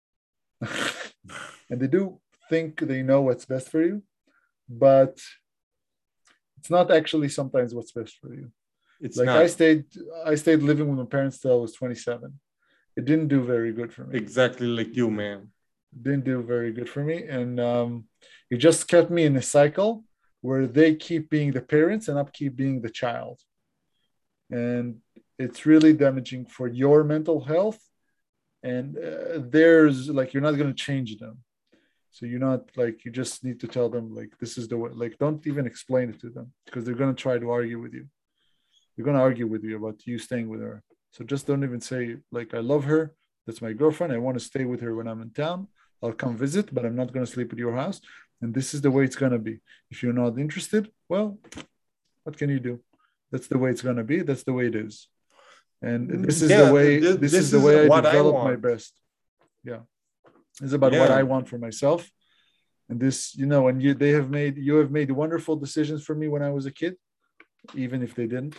And they do think they know what's best for you, but it's not actually sometimes what's best for you. It's like not. I stayed living with my parents till I was 27. It didn't do very good for me. Exactly like you, man. It didn't do very good for me. And it just kept me in a cycle where they keep being the parents and I keep being the child. And it's really damaging for your mental health. And there's like, you're not going to change them. So you're not like, you just need to tell them like, this is the way, like, don't even explain it to them because they're going to try to argue with you. They're going to argue with you about you staying with her. So just don't even say like, I love her. That's my girlfriend. I want to stay with her when I'm in town. I'll come visit, but I'm not going to sleep at your house. And this is the way it's going to be. If you're not interested, well, what can you do? That's the way it's going to be. That's the way it is. And this is the way, this is the way I develop my best. Yeah. It's about what I want for myself. And this, you know, and you have made wonderful decisions for me when I was a kid. even if they didn't.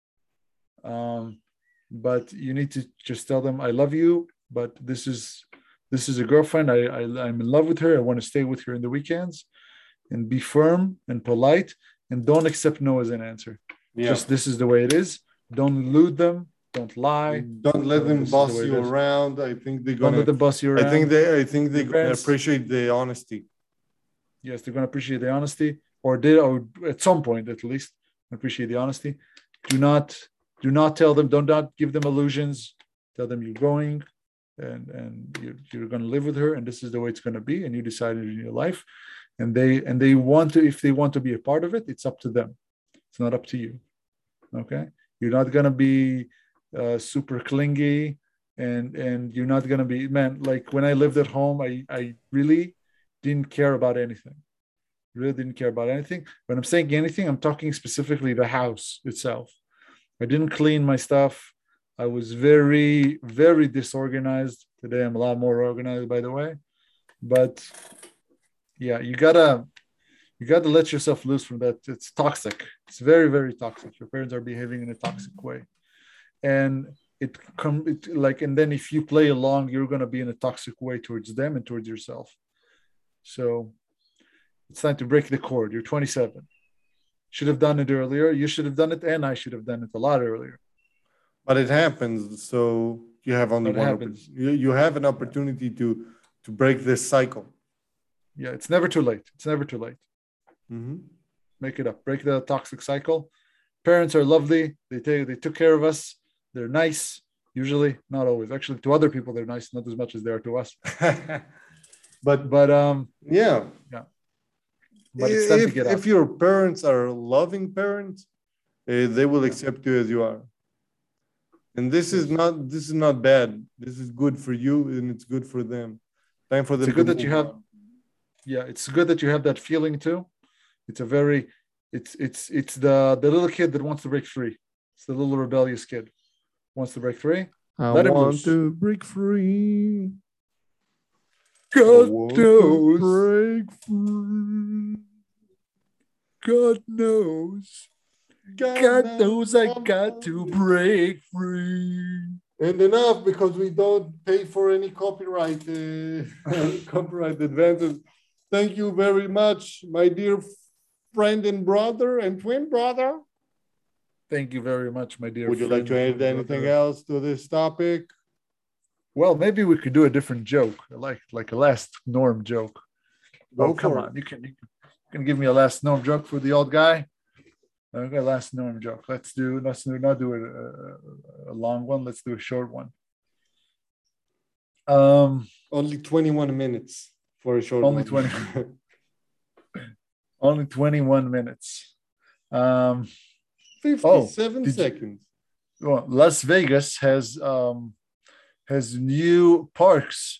But you need to just tell them, I love you, but this is a girlfriend. I'm in love with her. I want to stay with her in the weekends, and be firm and polite, and don't accept no as an answer. Yeah. Just this is the way it is. Don't elude them. Don't lie. Don't let them boss you around. I think they're gonna. Don't let them boss you around. I think they're gonna appreciate the honesty. Yes, they're gonna appreciate the honesty, or at some point at least appreciate the honesty. Do not tell them. Do not give them illusions. Tell them you're going, and you're gonna live with her, and this is the way it's gonna be, and you decided in your life, and they want to. If they want to be a part of it, it's up to them. It's not up to you. Okay, you're not gonna be super clingy, and you're not gonna be, man, like when I lived at home, I really didn't care about anything. Really didn't care about anything. When I'm saying anything, I'm talking specifically the house itself. I didn't clean my stuff. I was very, very disorganized. Today I'm a lot more organized, by the way. But yeah, you gotta let yourself loose from that. It's toxic. It's very, very toxic. Your parents are behaving in a toxic way. And and then if you play along, you're gonna be in a toxic way towards them and towards yourself. So it's time to break the cord. You're 27. Should have done it earlier. You should have done it, and I should have done it a lot earlier. But it happens. So you have only one. You have an opportunity to break this cycle. Yeah, it's never too late. It's never too late. Mm-hmm. Make it up. Break the toxic cycle. Parents are lovely. They took care of us. They're nice. Usually, not always. Actually, to other people, they're nice, not as much as they are to us. but yeah. But it's time to get out. If your parents are loving parents, they will accept you as you are. And this is not bad. This is good for you, and it's good for them. Time for them. It's good that you have. Yeah, it's good that you have that feeling too. It's the little kid that wants to break free. It's the little rebellious kid wants to break free. Let him want to break free. God knows. Break free. God knows. God knows I got to break free. And enough, because we don't pay for any copyright advances. Thank you very much, my dear friend and brother and twin brother. Thank you very much, my dear friend. Would you like to add anything else to this topic? Well, maybe we could do a different joke, like a last Norm joke. Come on. You can give me a last Norm joke for the old guy. Okay, last Norm joke. Let's not do a long one. Let's do a short one. Only 21 minutes for a short one. Only 21 minutes. 57 seconds. Las Vegas has new parks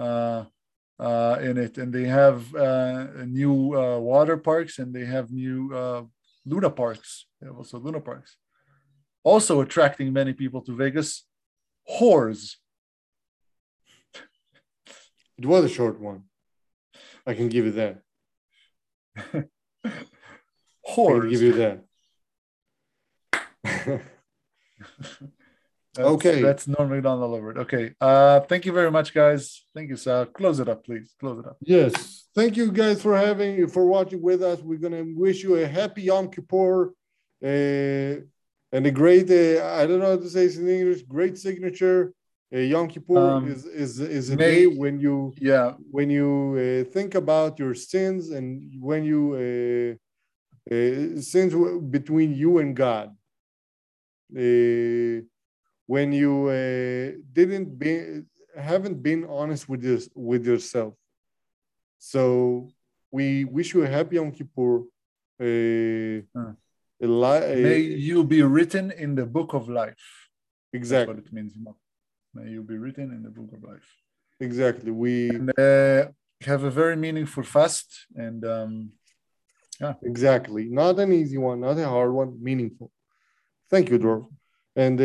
in it, and they have new water parks, and they have new Luna parks. They have also Luna parks. Also attracting many people to Vegas, whores. It was a short one. I can give you that. Whores. I can give you that. Okay. That's Norm Macdonald over it. Okay. Thank you very much, guys. Thank you, Sal. Close it up, please. Close it up. Yes. Thank you guys for watching with us. We're gonna wish you a happy Yom Kippur and a great I don't know how to say this in English, great signature. Yom Kippur is a day when you think about your sins, and when you sins between you and God. When you haven't been honest with yourself. So we wish you a happy Yom Kippur. May you be written in the book of life. Exactly. That's what it means. May you be written in the book of life. Exactly. We have a very meaningful fast, and exactly. Not an easy one, not a hard one, meaningful. Thank you, Dror. And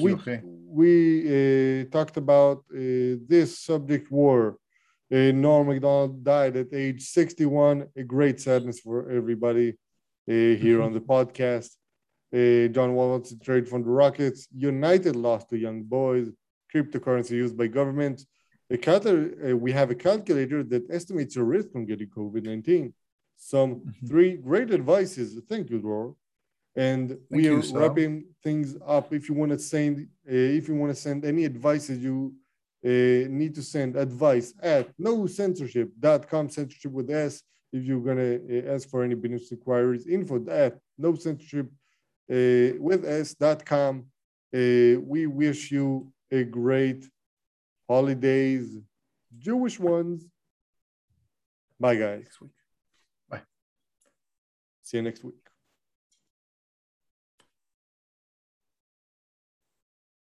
we talked about this subject war. Norm Macdonald died at age 61. A great sadness for everybody here on the podcast. John Wall wants to trade from the Rockets. United lost to Young Boys. Cryptocurrency used by governments. We have a calculator that estimates your risk from getting COVID-19. Some 3 great advices. Thank you, Dror. And we are wrapping things up. If you want to send, any advices, you need to send advice at nocensorship.com, censorship with S. If you're gonna ask for any business inquiries, info at nocensorship with S.com. We wish you a great holidays, Jewish ones. Bye, guys. Bye. See you next week.